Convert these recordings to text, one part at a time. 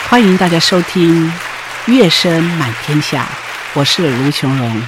歡迎大家收聽《樂聲滿天下》，我是盧瓊蓉。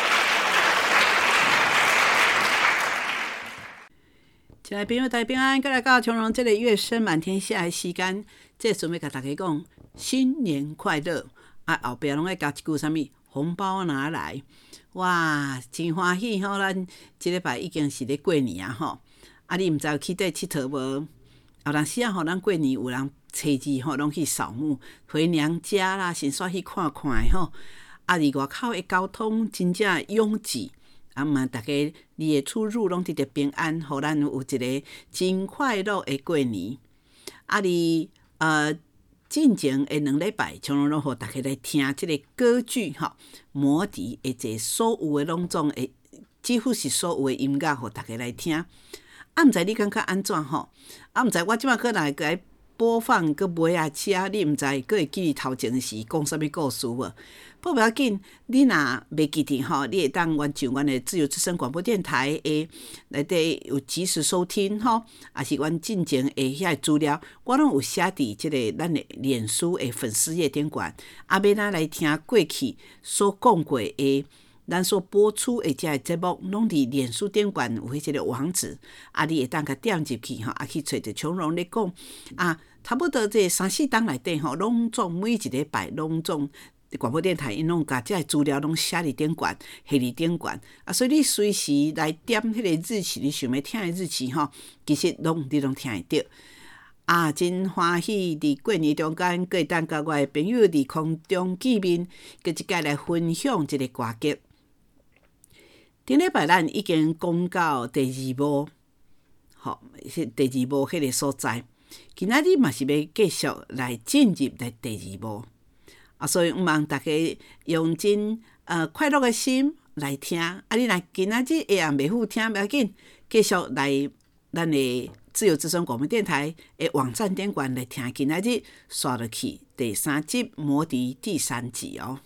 親愛的朋友，大家平安，再來到瓊蓉這裡《樂聲滿天下》的時間，這準備跟大家講新年快樂啊！後邊攏愛加一句什麼？紅包拿來！哇，真歡喜吼！咱這禮拜已經是咧過年啊吼！啊，你毋知有去佗佚佗無？有當時啊吼，咱過年有人初二吼，攏去掃墓、回娘家啦，先煞去看看吼。啊，離外口的交通真正擁擠，啊嘛，大家你的出入攏得平安，互咱有一個真快樂的過年。啊，你進前的2禮拜，從容攏互大家來聽這個歌劇吼，魔笛的這所有的攏總的，幾乎是所有的音樂，互大家來聽。啊，毋知你感覺安怎吼？啊，毋知我即馬擱來播放擱尾啊車，你毋知擱會記得頭前是講啥物故事無？不要緊，你若袂記得吼，你會當原上阮的自由之聲廣播電台誒內底有即時收聽吼，也是阮進前誒遐資料，我攏有寫佇即個咱的臉書誒粉絲頁頂懸，啊，要咱來聽過去所講過誒。咱所播出的這節目，攏佇臉書頂懸有迄個網址，啊，你會當甲點入去吼，啊去找着瓊蓉咧講啊，差不多這3-4檔內底吼，攏總每一禮拜攏總廣播電台因攏甲這資料攏寫佇頂懸，寫佇頂懸啊，所以你隨時來點迄個日期，你想要聽的日期吼，其實你攏聽得到啊，真歡喜佇過年中間，可以當甲我的朋友佇空中見面，擱一擺來分享這個歌曲。頂禮拜咱已經講到第2幕，好，第2幕迄個所在，今仔日嘛是要繼續來進入來第2幕啊，所以毋茫大家用真快樂的心來聽，啊，你若今仔日會袂好聽，不要緊，繼續來咱的自由之聲廣播電台的網站頂懸來聽，今仔日刷落去第3集《魔笛》第3集哦。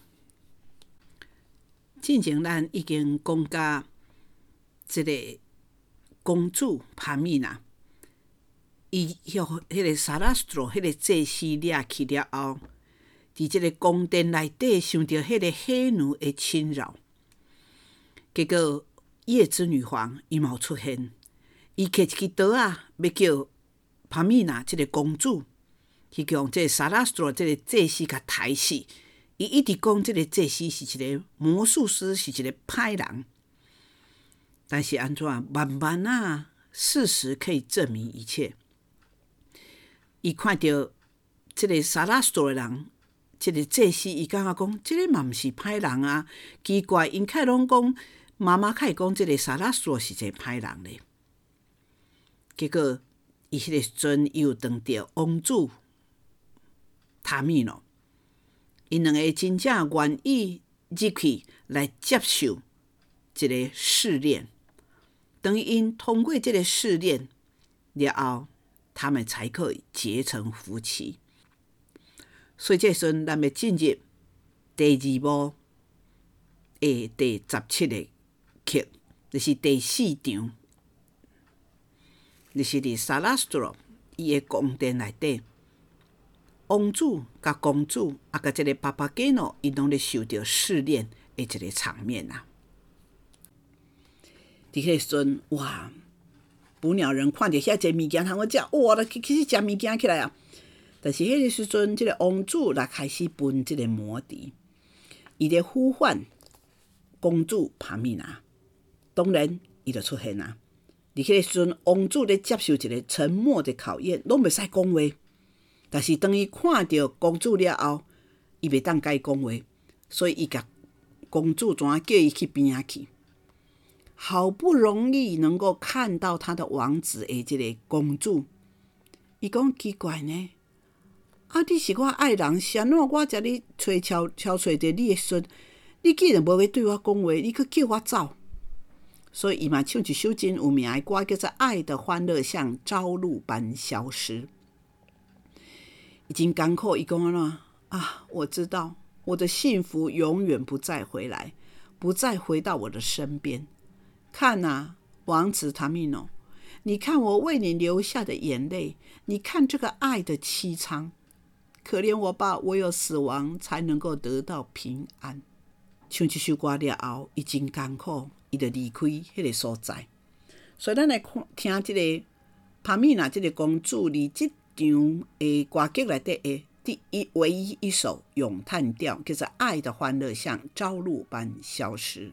進前咱已經講到這個公主帕米娜，伊迄個薩拉斯特羅迄個祭司掠去了後，佇這個宮殿內底想到迄個黑奴的侵擾，結果夜之女皇伊冇出現，伊摕一支刀啊，要叫帕米娜這個公主去用這個薩拉斯特羅這個祭司甲殺死。伊一直講，這個祭司是一個魔術師，是一個歹人。但是安怎慢慢啊，事實可以證明一切。伊看到這個薩拉斯托的人，這個祭司，伊感覺講，這個嘛不是歹人啊。奇怪，因開攏講，媽媽開講，這個薩拉斯托是一個歹人咧。結果，伊迄個時陣又當着王子塔米諾。因兩個真正願意入去來接受這個試煉，等於因通過這個試煉了後，他們才可以結成夫妻。所以這時陣咱要進入第2幕的第17個曲，就是第4場，就是佇薩拉斯特羅伊的宮殿內底。王子甲公主啊，甲這個巴巴吉諾，伊攏咧受到試煉的一個場面啊。佇迄個時陣，哇，捕鳥人看到遐濟物件通我食，哇，來開始食物件起來啊。但是迄個時陣，這個王子來開始分這個魔笛，伊咧呼喚公主帕米娜，當然伊就出現啊。佇迄個時陣，王子咧接受一個沉默的考驗，攏袂使講話。但是當伊看到公主了後，伊袂當甲伊講話，所以伊甲公主怎叫伊去邊仔去。好不容易能夠看到他的王子的這個公主，伊講奇怪呢，啊，你是我愛人，是安怎我遮哩找着你的時陣，你既然無要對我講話，你去叫我走。所以伊嘛唱一首真有名的歌，叫做《愛的歡樂像朝露般消失》。已經艱苦，伊講了啊，我知道我的幸福永遠不再回來，不再回到我的身邊。看啊，王子塔米諾，你看我為你流下的眼淚，你看這個愛的淒慘， 可憐我吧，唯有死亡才能夠得到平安。唱這首歌了後，伊真艱苦，伊就離開迄個所在。所以咱來聽這個帕米娜這個公主離這場的歌劇內底的唯一一首詠嘆調，叫做《愛的歡樂像朝露般消失》。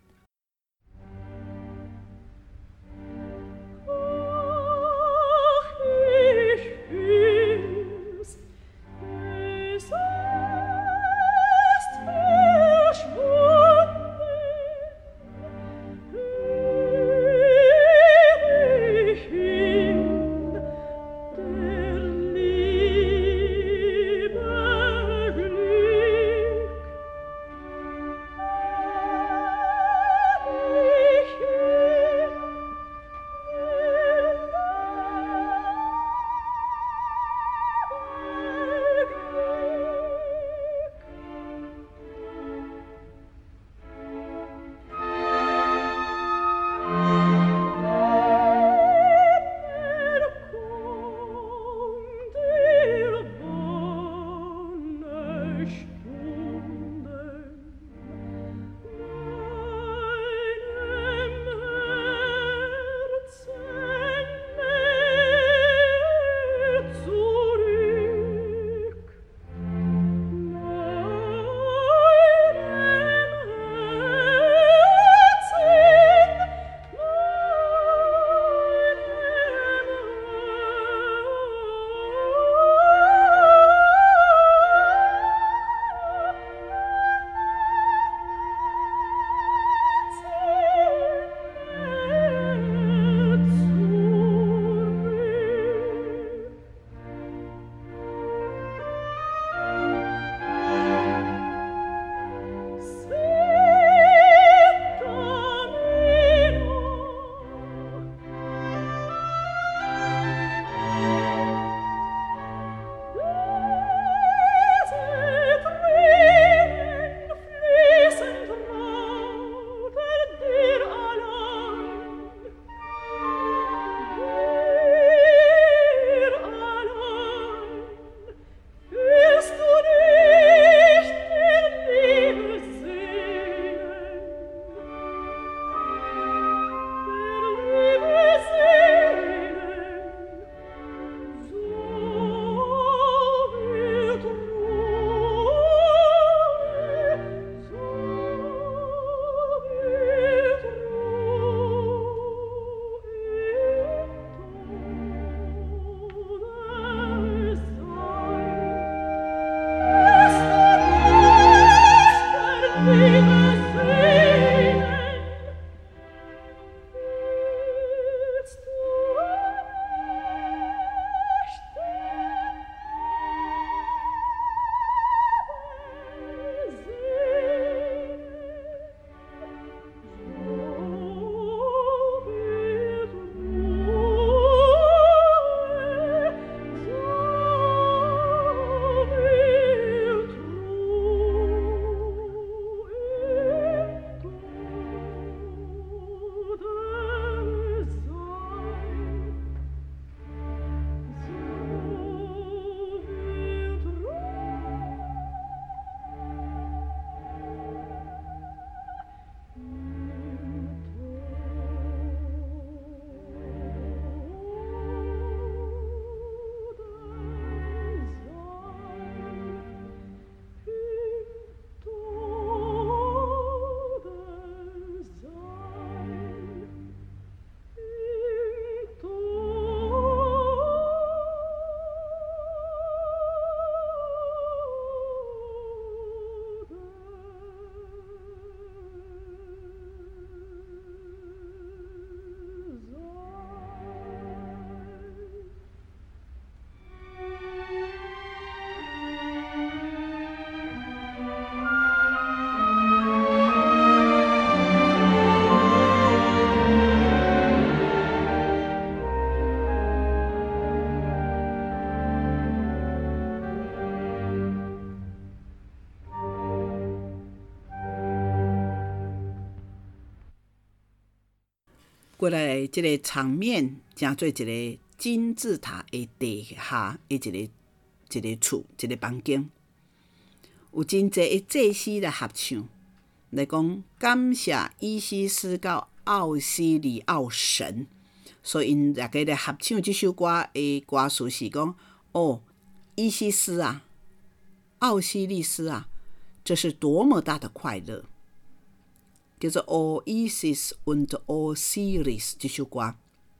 過來這個場面，成做一個金字塔的底下的一個一個厝、一個房間，有真濟的祭司來合唱，來講感謝伊西斯到奧西里奧神。所以因大家來合唱這首歌的歌詞是講：哦，伊西斯啊，奧西利斯啊，這是多麼大的快樂！叫做《O Isis und Osiris》這首歌。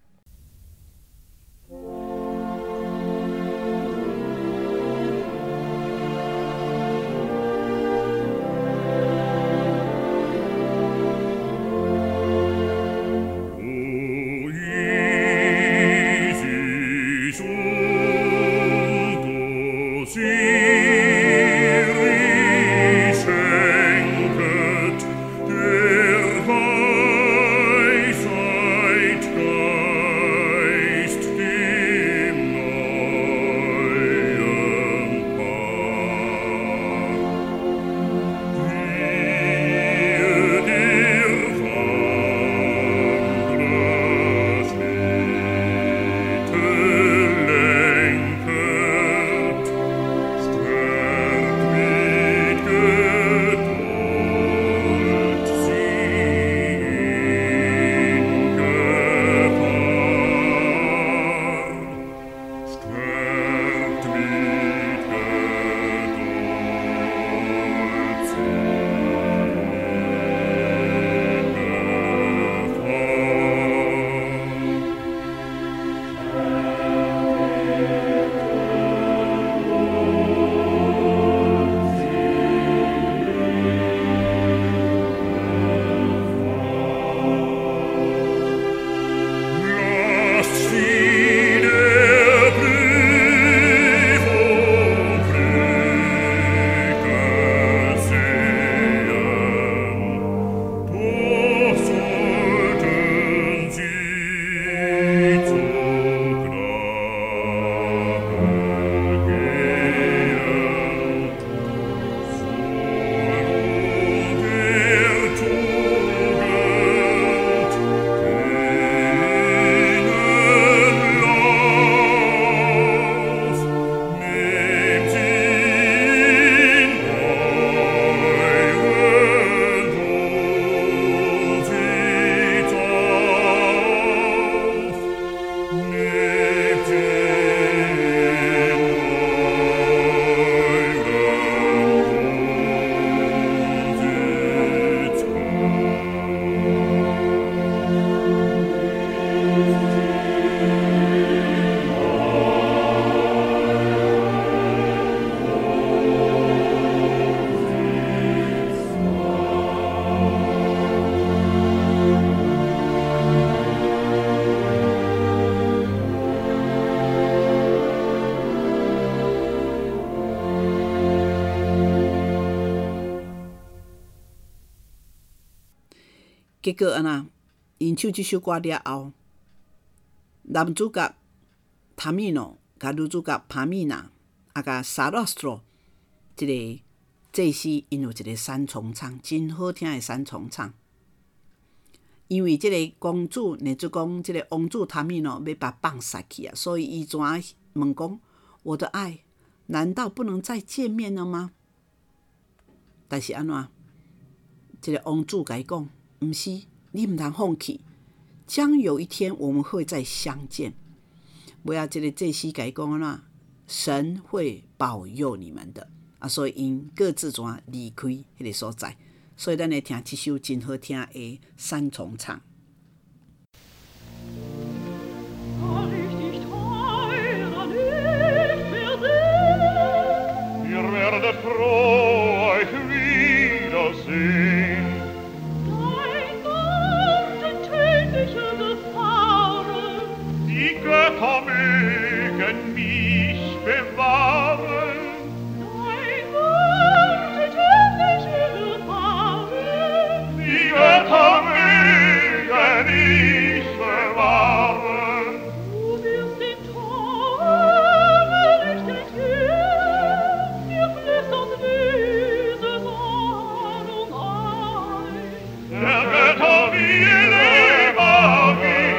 結果安那，因唱這首歌了後，男主角塔米諾甲女主角帕米娜，甲薩洛斯特，這個祭司因有一個三重唱，真好聽的三重唱。因為這個公主，乃至講這個王子塔米諾要把放殺去啊，所以伊怎問講：我的愛，難道不能再見面了嗎？但是安怎？這個王子甲伊講。不是，你不能放棄，將有一天我們會再相見。不要這個祭司甲伊講啦，神會保佑你們的啊！所以因各自怎離開那個所在。所以咱來聽這首真好聽的三重唱。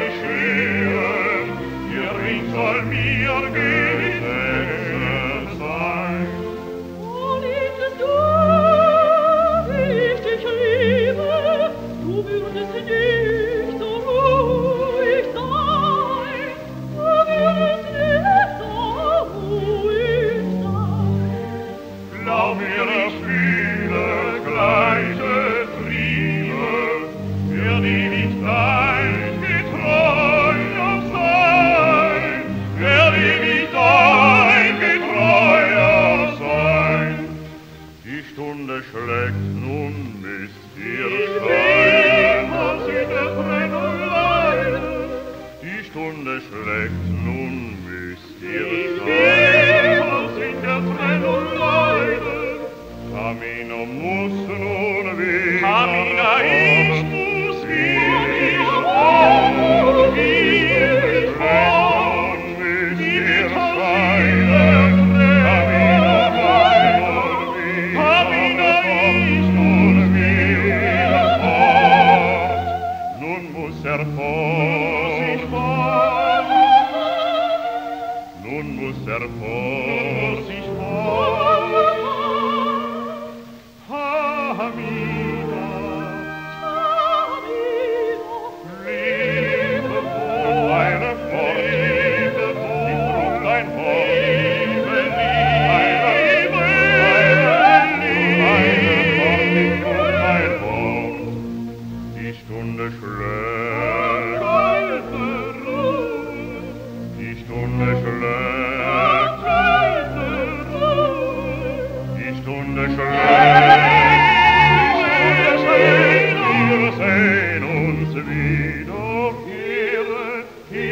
Soll mir gehen, jetzt, nun müsst ihr sein. Was in der Trennung leiden, Tamina muss nun wieder. Tamina, ich muss wieder fort. Wie mit scheiden, Tamina, Tamina, ich nun wieder fort. Nun muss fort. Nun muss fort. Tamina, Liebe Wort, meine Wort, Liebe Wort, ich trug dein Wort, Liebe, die Stunde schlägt, die Stunde schlägt, die Stunde schlägt, wir sehen uns wiederkehren,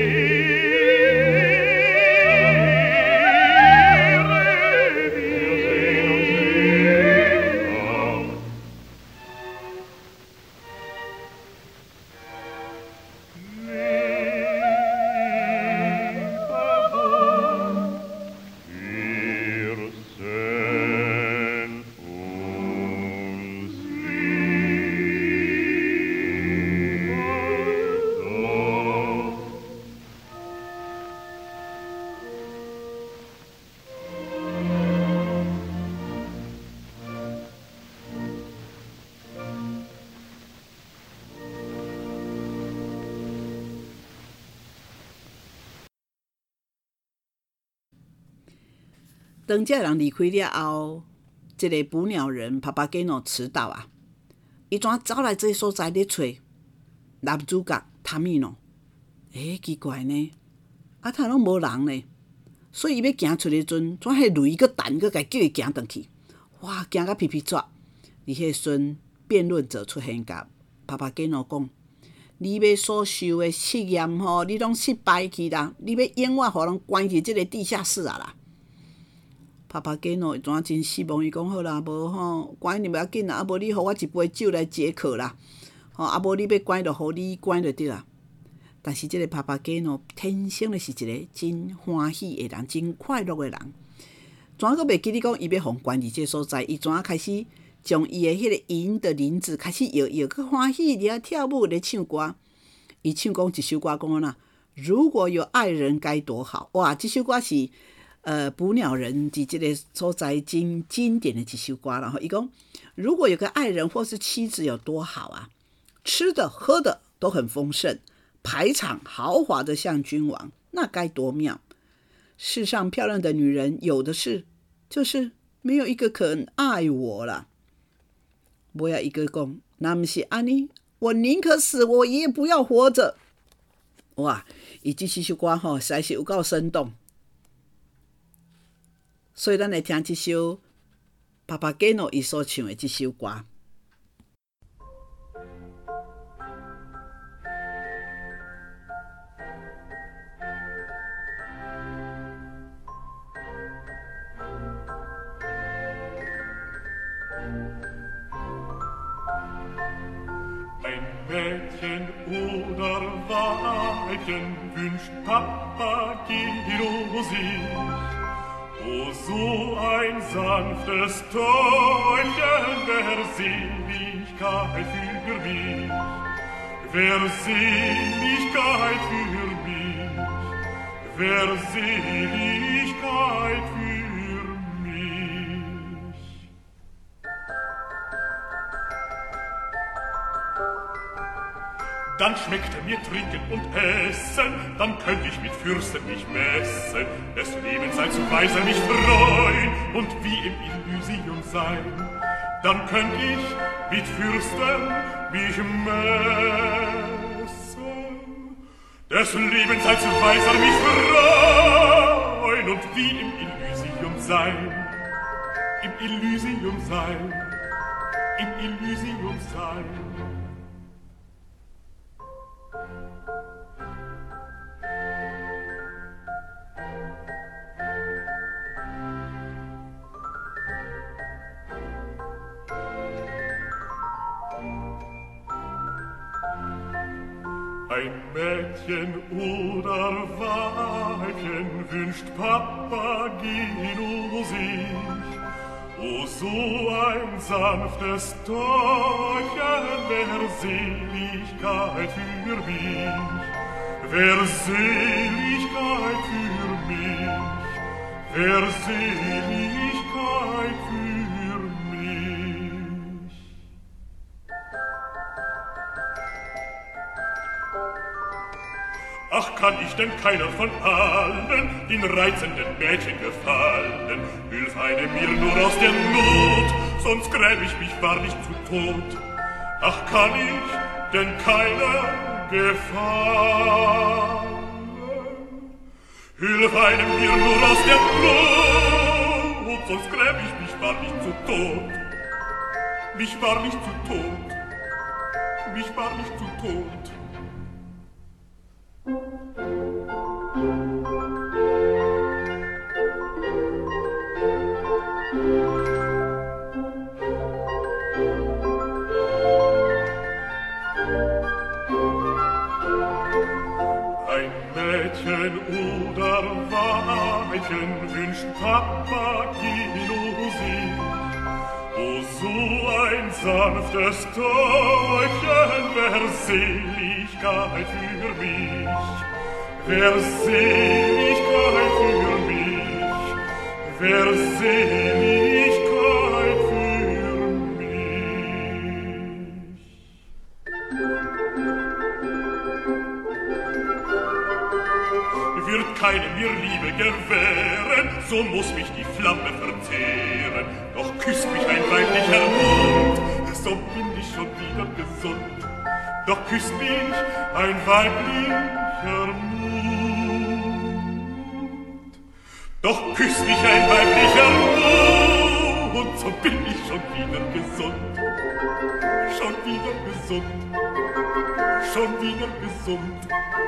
当这人離開了後，這個捕鳥人帕帕吉諾遲到啊，伊怎走來這個所在咧找男主角塔米諾？奇怪呢，啊，他攏無人呢，所以伊要行出去陣，怎迄雷個彈個，甲叫伊行轉去，哇，行甲皮皮抓。佇迄陣，辯論者出現甲帕帕吉諾講：你要所受的試驗吼，你攏失敗去啦，你要永遠互人關入這個地下室啊啦！帕帕吉諾怎真失望？伊講好啦，無吼關你不要緊啦，啊無你互我一杯酒來解渴啦，吼啊無你要關就互你關就對啦。但是這個帕帕吉諾天生就是一個真歡喜的人，真快樂的人。怎個袂記你講伊要互關入這個所在？伊怎開始將伊的迄個銀的鈴子開始搖搖，佮歡喜佇遐跳舞咧唱歌。伊唱講一首歌講安那，如果有愛人該多好！哇，這首歌是。捕鳥人佇這個所在真經典的一首歌，然後伊講，如果有個愛人或是妻子有多好啊，吃的喝的都很豐盛，排場豪華的像君王，那該多妙！世上漂亮的女人有的是，就是沒有一個肯愛我了。尾仔一個講，那不是安尼，我寧可死，我也不要活着。哇，伊這首歌吼，實在是有夠生動。所以，咱來聽這首帕帕吉諾伊所唱的這首歌。 Ein Mädchen oder Weibchen wünscht Papageno sich. Oh, so ein sanftes Täubchen, wer Seligkeit für mich, wer Seligkeit für mich, wer Seligkeit für mich. Dann schmeckte mir Trinken und Essen, dann könnt ich mit Fürsten mich messen, des Lebens sei zu weiser mich freuen und wie im Elysium sein. Dann könnt ich mit Fürsten mich messen, des Lebens sei zu weiser mich freuen und wie im Elysium sein. Im Elysium sein, im Elysium sein. Ein Mädchen oder Weibchen wünscht Papageno sich. O, so ein sanftes Täubchen, wär Seligkeit für mich. Wär Seligkeit für mich. Wär Seligkeit für mich. Ach, kann ich denn keiner von allen den reizenden Mädchen gefallen? Hilf eine mir nur aus der Not, sonst gräb ich mich wahrlich zu Tod. Ach, kann ich denn keiner gefallen? Hilf einem mir nur aus der Not, sonst gräb ich mich wahrlich zu Tod. Mich wahrlich zu Tod. Mich wahrlich zu Tod. Ein Mädchen oder Weibchen wünscht Papageno sich. O, so ein sanftes Täubchen wär Seligkeit für mich. Wär Seligkeit für mich. Wär Seligkeit für mich. Wird keine mir Liebe gewähren, so muss mich die Flamme verzehren. Doch küsst mich ein weiblicher Mund, so bin ich schon wieder gesund. Doch küsst mich ein weiblicher Mund. Doch küsst mich ein weiblicher Mund, so bin ich schon wieder gesund. Schon wieder gesund. Schon wieder gesund.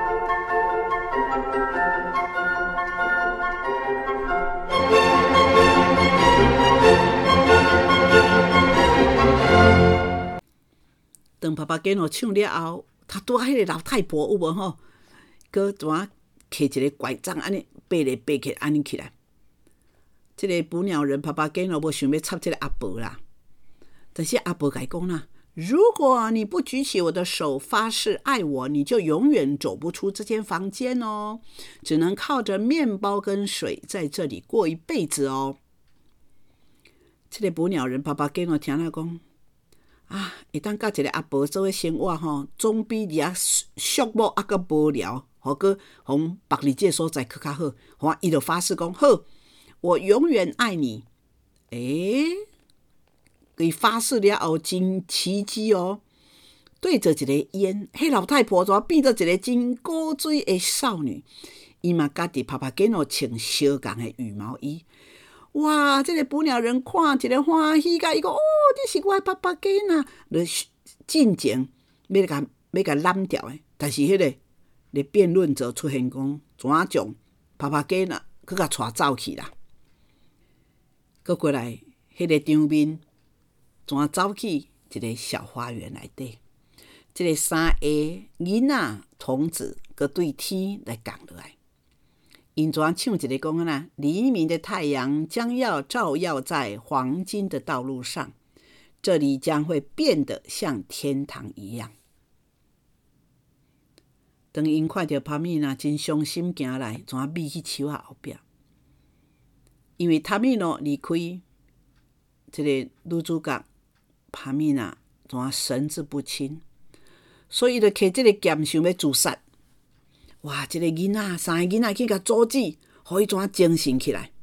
当爸爸跟我唱了后，他拄啊迄個老太婆有無吼？佮怎啊摕一個拐杖安尼爬來爬去安尼起來。這個捕鳥人爸爸跟我無想要插這個阿婆啦，但是阿婆甲伊講啦：如果你不舉起我的手發誓愛我，你就永遠走不出這間房間哦，只能靠着麵包跟水在這裡過一輩子哦。這個捕鳥人爸爸跟我聽了講。啊，會當甲一個阿婆做伙生活吼，總比掠畜牧還閣無聊，互閣互別離這個所在閣較好。互伊就發誓講好，我永遠愛你。伊發誓了後真奇蹟哦，對着一個煙，迄老太婆怎變做一個真古錐的少女。伊嘛家己拍拍肩哦，穿相共的羽毛衣。哇！這個捕鳥人看一個歡喜甲伊講：“哦，這是我的爸爸囡仔。”就進前要甲攬掉的，但是迄個辯論者出現講，怎啊將爸爸囡仔佮甲帶走去啦？佮過來，迄個場面怎啊走去一個小花園內底？這個三個囡仔童子佮對天來講落來。因怎唱一個講啊？黎明的太陽將要照耀在黃金的道路上，這裡將會變得像天堂一樣。當因看到帕米娜真傷心行來，怎眯去樹仔後壁？因為塔米諾離開，這個女主角帕米娜怎神志不清，所以就摕這個劍想要自殺。哇！這個囡仔，三個囡仔去甲阻止，互伊怎精神起來？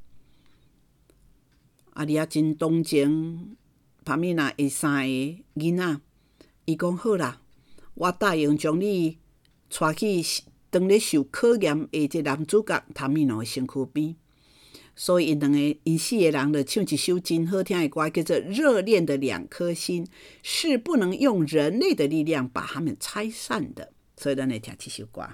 啊，你也真同情帕米娜的三個囡仔，伊講好啦，我答應將你帶去當咧受考驗的這男主角塔米諾的身軀邊。所以因四個人就唱一首真好聽的歌，叫做《熱戀的兩顆心》，是不能用人類的力量把它們拆散的。所以咱來聽這首歌。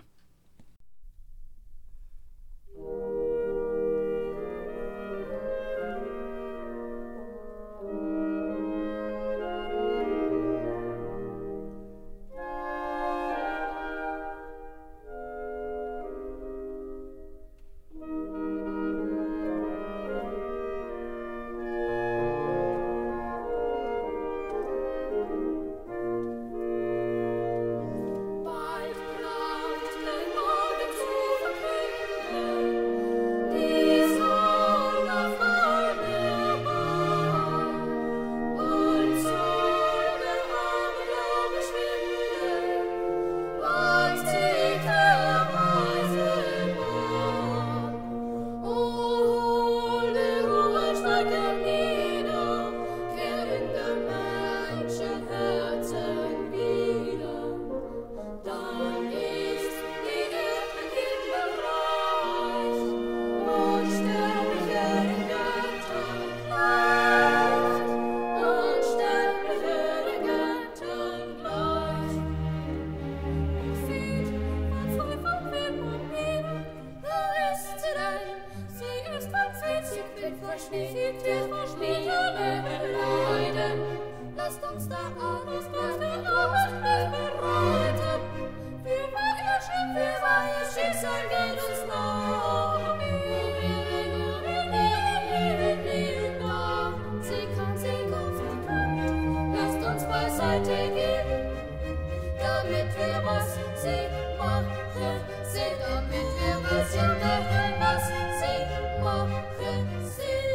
der Schnee, wir leiden. Lasst uns da alles bereiten. Für ihr Schicksal geht uns nach. Sie kann lasst uns beiseite gehen, damit wir was sie machen, damit wir was sie machen, was sie machen, sie.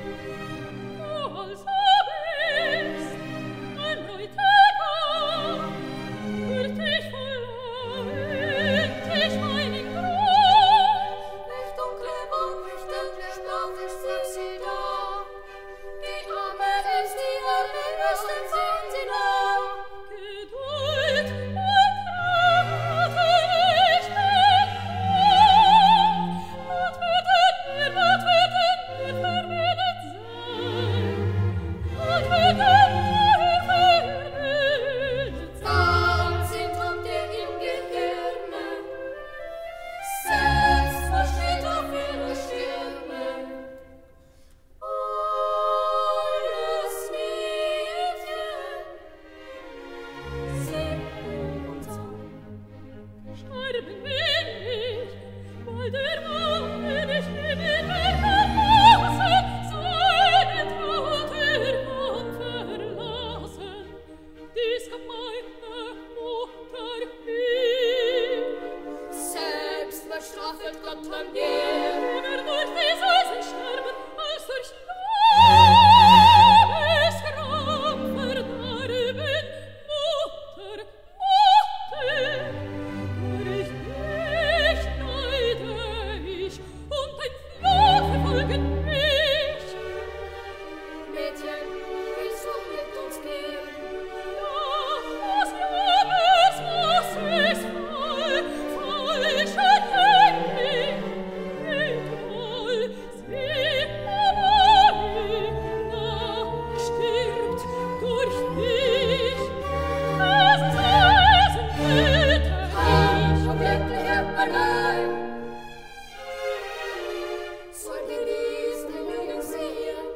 Also ist ein neuer Tag, für dich verloren, dich meinen Grund. Nicht dunkle Wolken, Sprach ist sie da. Die Arme ist die allerbesten, sind sie da. Geduld und Kraft ich bin was wird denn verwendet sein? Was wird denn verwendet sein? Ganz sind dir im Gehirne, selbst versteht auf ihre Stirne. Alles Mädchen, sing und sang. Sterben will ich, weil der Mann, den ich lieb in mir verlassen, seine Tote kann verlassen. Dies hat meine Mutter lieb. Selbst bestraft Gott an dir. Lieber durch die Eisen sterben, als durch Liebesgram verderben. Mutter, durch dich leide ich, und dein Fluch verfolgen mich. Mädchen, willst du mit uns gehen? Ja, was ist voll, ich erkenne egal, sie Marina stirbt durch dich. Das Eisen tötet Reich und glücklicher allein. Soll diesen Jungen sehen,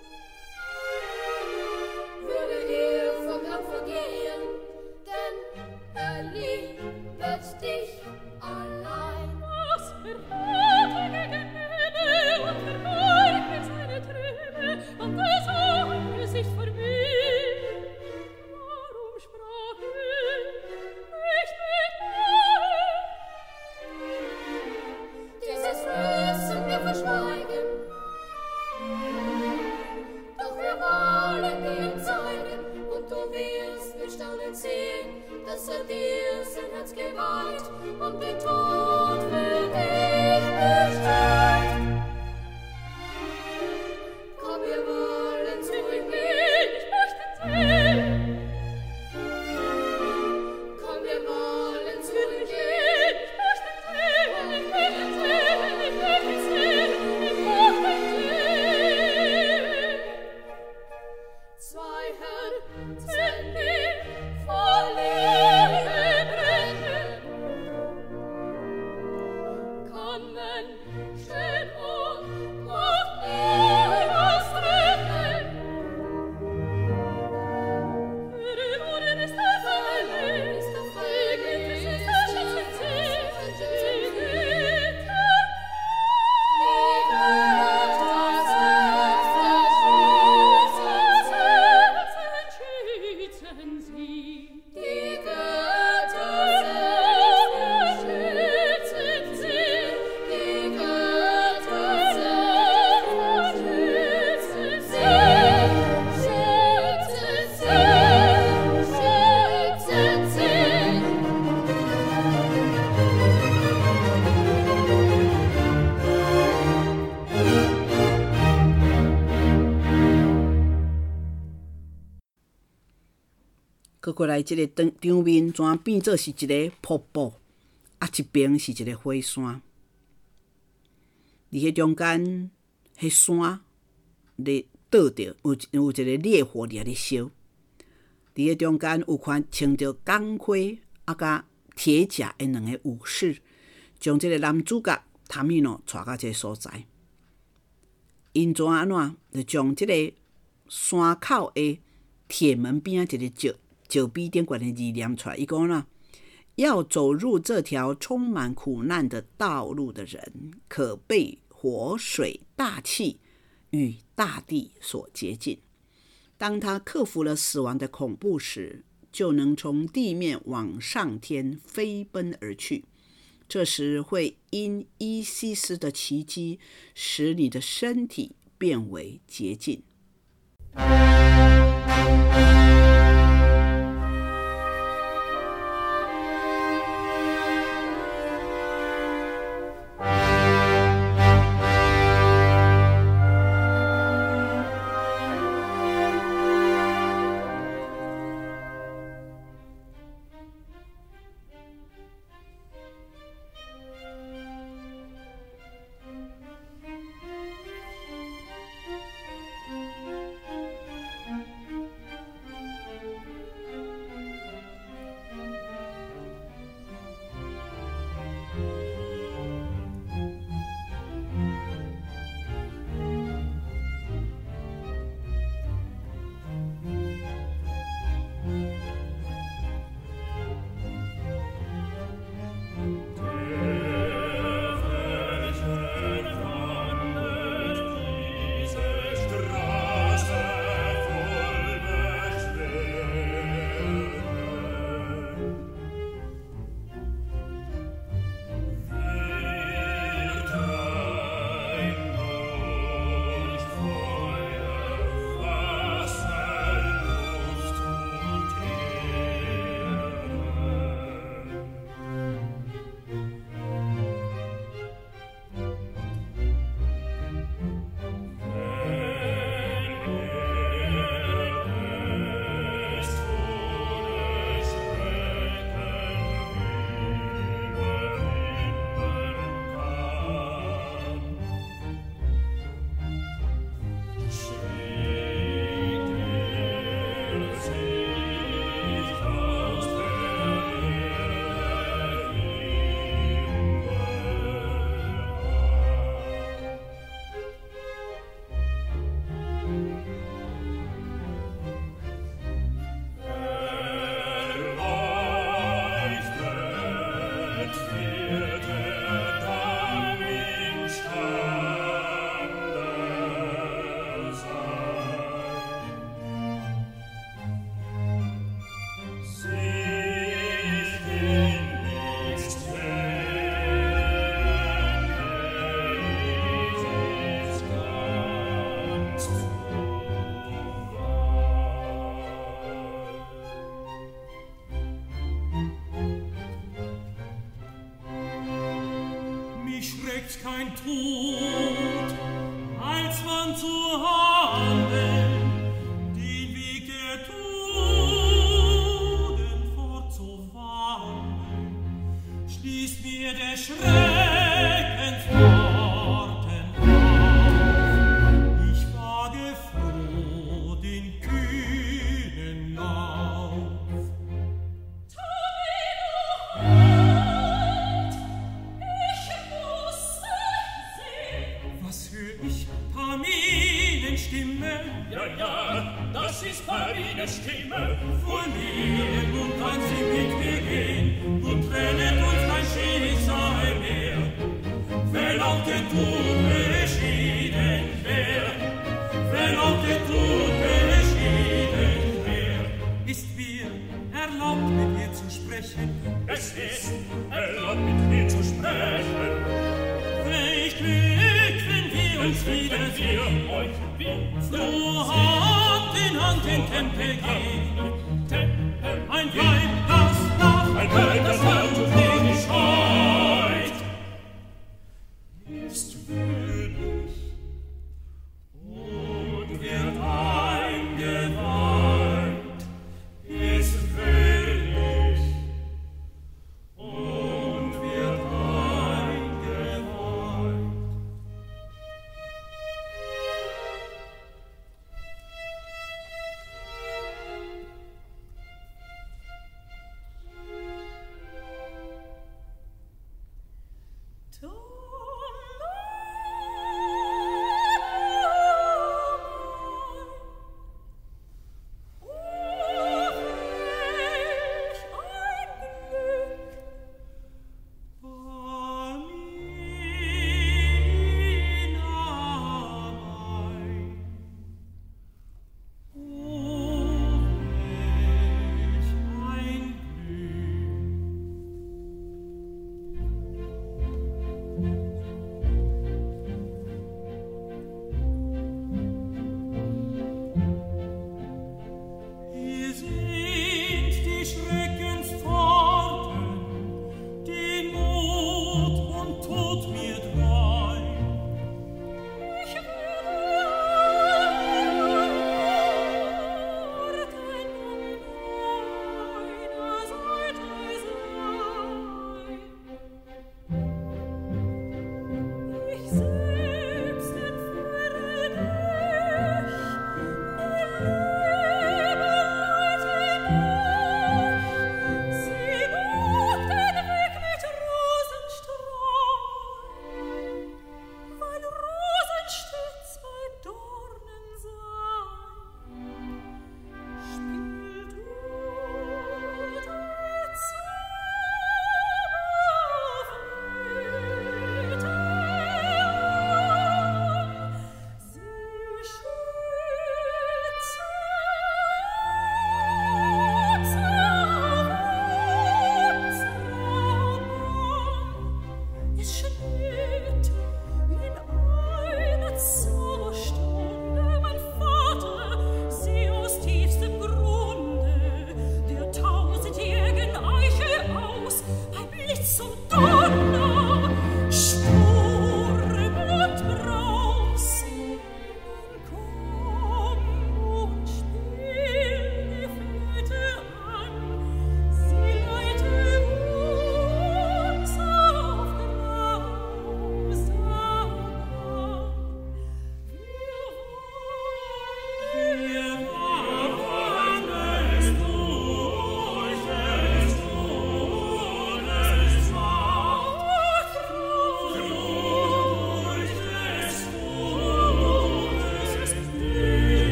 würde vom Herrn vergehen, denn liebet dich allein. Was verrate gegen Himmel und verleugnet seine Träne und das Angesicht vor mir. Warum sprach ich nicht mit mir? Dieses müssen wir verschweigen, doch wir wollen dir zeigen, und du wirst mit Staunen sehen, dass dir sein Herz geweiht und den Tod für dich bestellt. Komm, wir wollen zu ihm gehen, Ich möchte sehen, komm, wir wollen zu ihm gehen. ich möchte sehen, ich möchte sehen, ich möchte sehen, ich möchte sehen. Zwei Herzen, Die voll Liebe brennen, kann Menschen und Macht niemals trennen. Für den Orden ist der Feind, ist der Gegen Feind, ist der Schützen, die Güte. Schützen sie. Die Götter schützen sie, die Götter schützen sie, schützen sie. 過來，這個場面全變做是一個瀑布，啊，一邊是一個火山。伫迄中間，迄山咧倒着，有一個烈火咧燒。伫迄中間有款穿着鋼盔啊甲鐵甲的兩個武士，將這個男主角湯米諾帶到這個所在。 因怎安怎，就將這個山口的鐵門邊啊一個石碑頂懸的字念出來。伊講啦，要走入這條充滿苦難的道路的人，可被火、水、大氣與大地所接近。當他克服了死亡的恐怖時，就能從地面往上天飛奔而去。這時會因伊西斯的奇蹟，使你的身體變為潔淨。 Kein Tod, als man zu handeln, den Weg der Tugend fortzuwandeln, schließt mir der Schreckensworten auf. Ich wage froh den kühnen Lauf. Das ist Marines Stimme. Vor mir, nun kann sie mit mir gehen und trennet uns kein Schicksal mehr. Wenn auch der Tod beschieden wär, wenn auch der Tod beschieden wär, ist mir erlaubt, mit ihr zu sprechen. Es ist erlaubt, mit mir zu sprechen. Welch Glück, wenn wir uns wiedersehen. So Hand in Hand in Tempel gehen. Ein Weib, das lacht, das laut nicht scheut, ist würdig und wird eingeweiht, ist würdig und wird eingeweiht.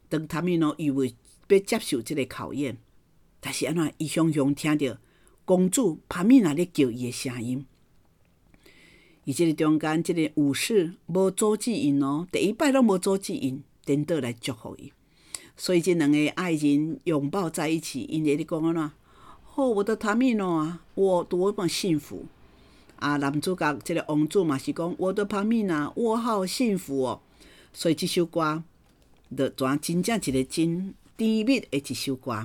當塔米諾以為要接受這個考驗，但是安怎伊常常聽到公主帕米娜咧叫伊的聲音。伊這個中間，這個武士無阻止因哦，第一擺攏無阻止因，顛倒來祝福伊。所以這兩個愛人擁抱在一起，因咧講安怎？哦，我的塔米諾啊，我多麼幸福啊！男主角這個王子嘛是講，我的帕米娜，我好幸福哦。所以這首歌就真正一個真甜蜜的一首歌。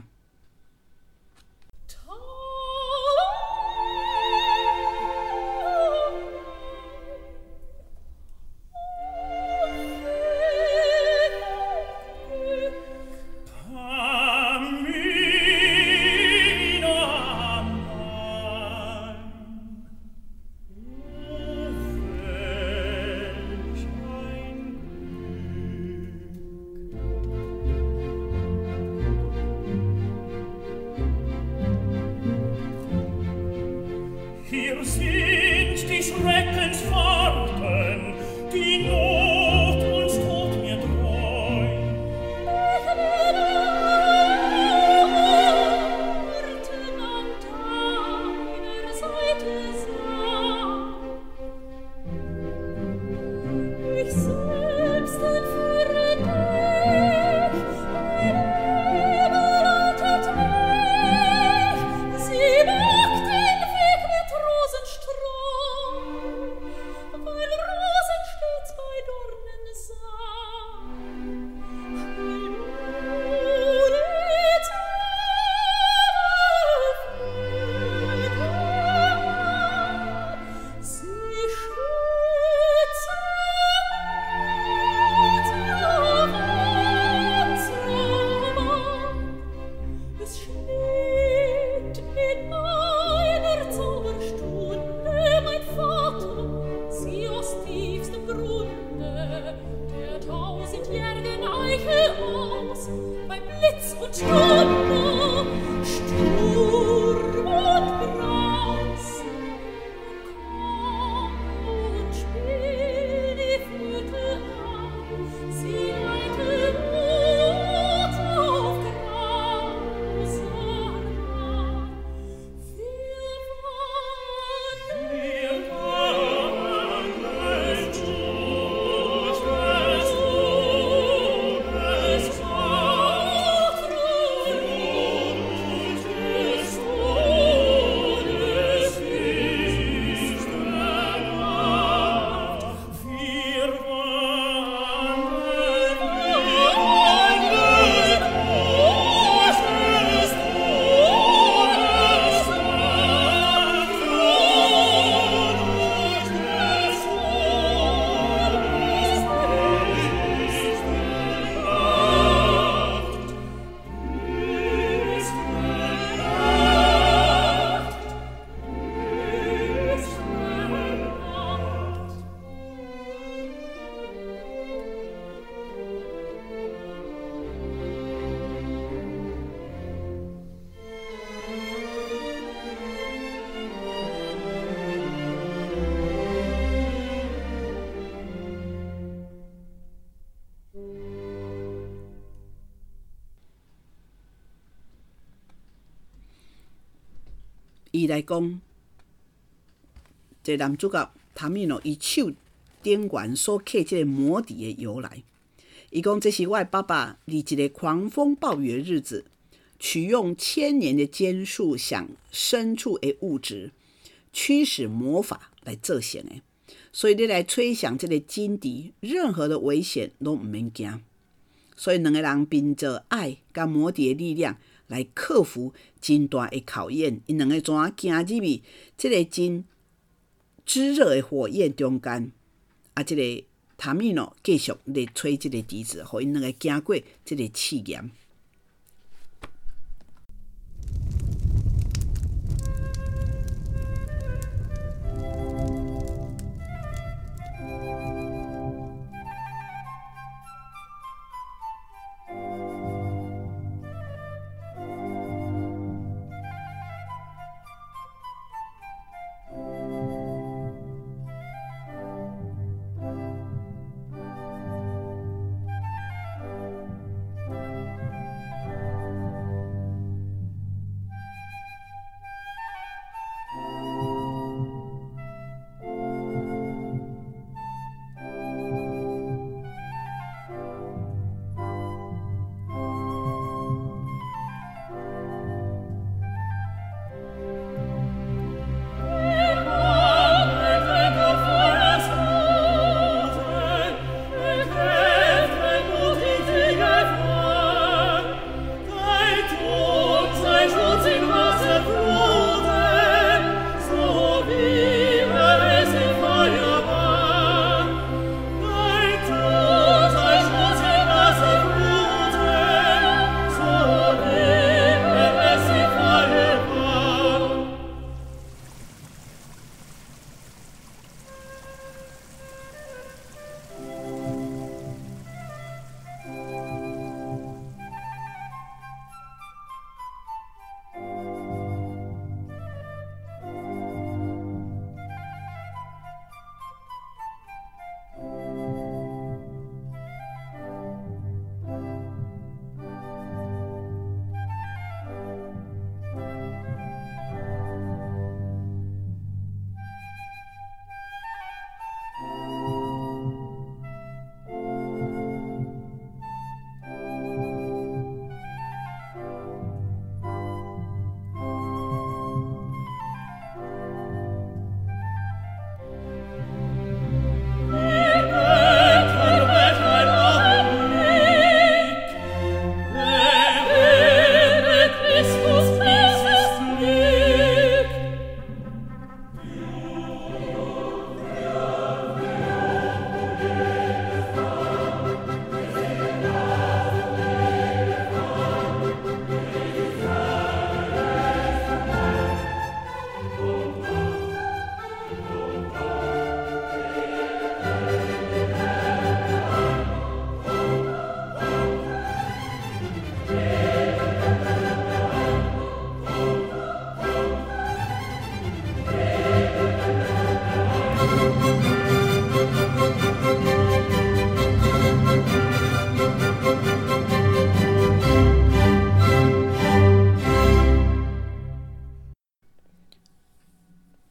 伊來講，這男主角塔米諾伊手頂緣所刻這個魔笛的由來。伊講這是我的爸爸，在一個狂風暴雨的日子，取用千年的堅樹向深處的物質驅使魔法來做成的。所以你來吹響這個金笛，任何的危險都唔免驚。所以兩個人憑着愛跟魔笛的力量來克服真大的考驗，因兩個怎啊行入去這個真炙熱的火焰中間，啊，這個塔米諾繼續來吹這個笛子，互因兩個行過這個試驗。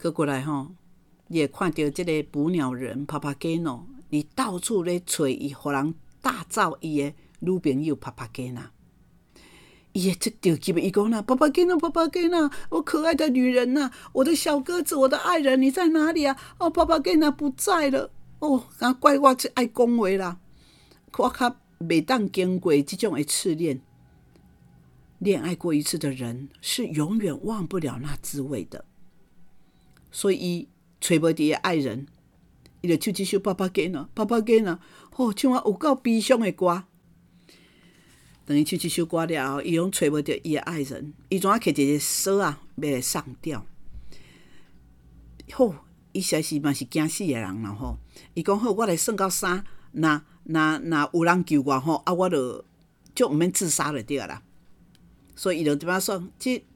擱過來吼，你會看到這個捕鳥人帕帕基諾，你到處咧找伊，互人大造伊的女朋友帕帕基娜。伊會着急，伊講啦，帕帕基娜，帕帕基娜，我可愛的女人吶、啊，我的小鴿子，我的愛人，你在哪裡啊？哦，帕帕基娜不在了。哦，怪我這愛講話啦，我較袂當經過這種的試煉。戀愛過一次的人是永遠忘不了那滋味的，所以伊找無佇的愛人，伊就唱這首帕帕基娜，帕帕基娜，哦，唱啊有夠悲傷的歌。等伊唱這首歌了後，伊攏找無到伊的愛人，伊怎啊摕一個鎖啊，要來上吊。好，伊實在是嘛是驚死的人啦吼。伊講好，我來算到3，那有人救我吼，啊，我就毋免自殺就對啦。所以伊就點樣算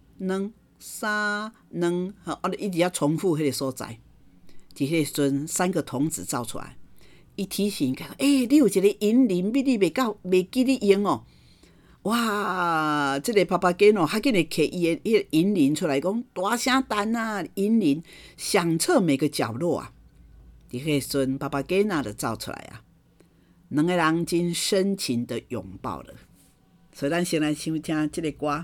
？1、2、3、2，啊，一直要重複迄個所在。伫迄個陣，3個童子走出來，伊提醒講：你有一個銀鈴，你袂記你用哦。哇！這個帕帕基諾還給你摕伊的迄個銀鈴出來，講大聲彈啊，銀鈴響徹每個角落啊。伫迄個陣，帕帕基娜就走出來啊，兩個人真深情的擁抱了。所以咱先來收聽這個歌。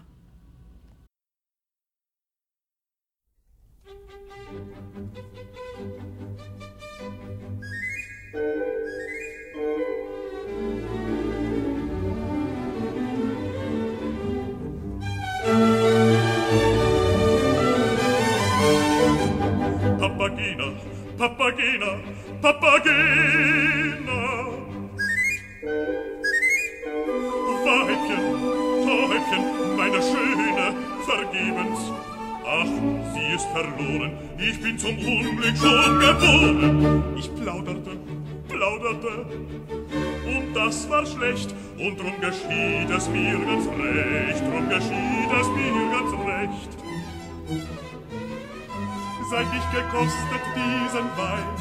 Papagena, Papagena, Papagena. Weibchen, Täubchen, meine Schöne, vergebens. Ach, sie ist verloren, ich bin zum Unglück schon geboren. Ich plauderte, und das war schlecht, und drum geschieht es mir ganz recht, Seit ich gekostet diesen Wein,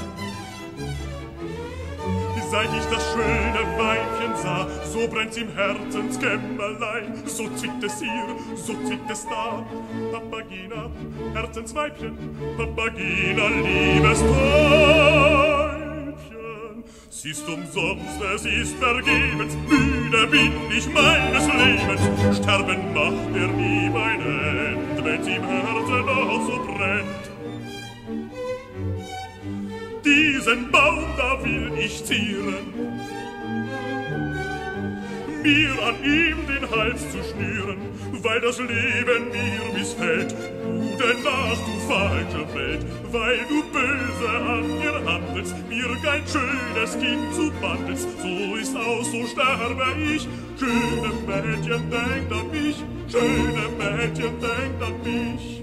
seit ich das schöne Weibchen sah, so brennt's im Herzenskämmerlein, so zwickt es hier, so zwickt es da. Papagena, Herzensweibchen, Papagena, liebes Täubchen. Es ist umsonst, es ist vergebens, müde bin ich meines Lebens. Sterben macht mir nie mein End, wenn's im Herzen noch so brennt. Diesen Baum da will ich zieren, mir an ihm den Hals zu schnüren, weil das Leben mir missfällt. Gute Nacht, du falsche Welt, weil du böse an mir handelst, mir kein schönes Kind zu bandelst. So ist aus, so sterbe ich. Schöne Mädchen, denkt an mich, schöne Mädchen, denkt an mich.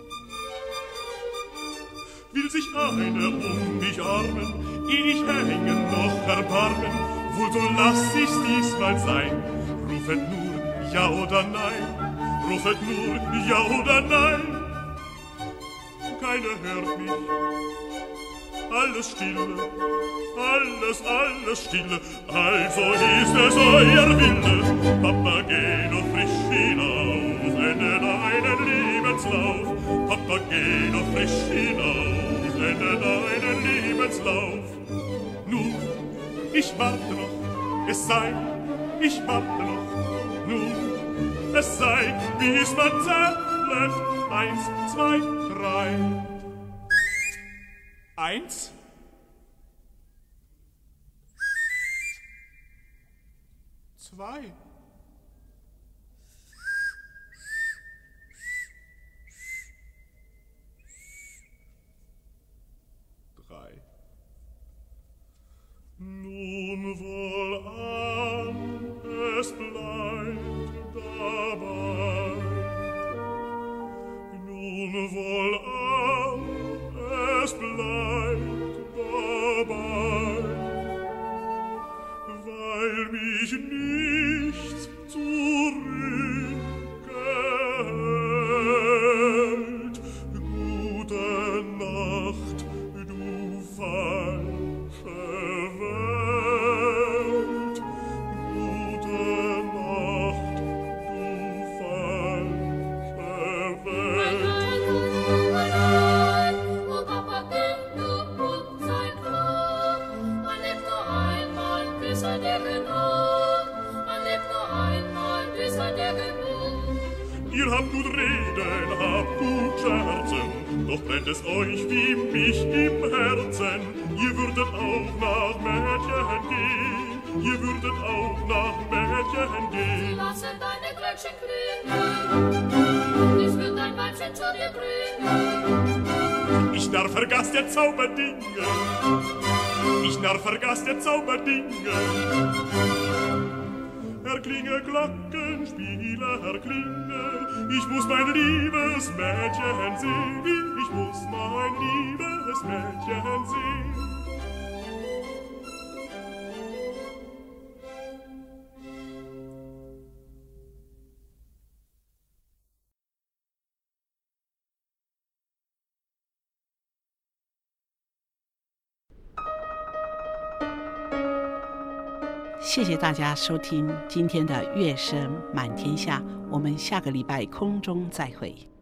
Will sich eine um mich armen, ich hängen noch erbarmen, wohl so lass ich's diesmal sein. Rufet nur ja oder nein, rufet nur ja oder nein. Keiner hört mich, alles stille, alles stille, also ist es euer Wille. Papageno frisch hinaus, ende deinen Lebenslauf, Papageno frisch hinaus, ende deinen Lebenslauf. Nun, ich warte noch, es sei, ich warte noch, nun, es sei, bis man zählt, 1, 2, 3. 1, 2. Nun wohlan, es bleibt dabei. Nun wohlan, es bleibt dabei, weil mich nichts zurückhält. Gute Nacht, du falsche Welt. Gute Nacht, du falsche Welt. Ihr habt gut reden, habt gut scherzen, doch brennt es euch wie mich im Herzen. Ihr würdet auch nach Mädchen gehen, ihr würdet auch nach Mädchen gehen. Lassen deine Glöckchen klingen, ich will dein Weibchen zu dir bringen. Ich narr vergaß der Zauberdinge, ich narr vergaß der Zauberdinge. Erklinge Glockenspieler, erklinge, ich muss mein liebes Mädchen sehen, ich muss mein liebes Mädchen sehen. 謝謝大家收聽今天的樂聲滿天下，我們下個禮拜空中再會。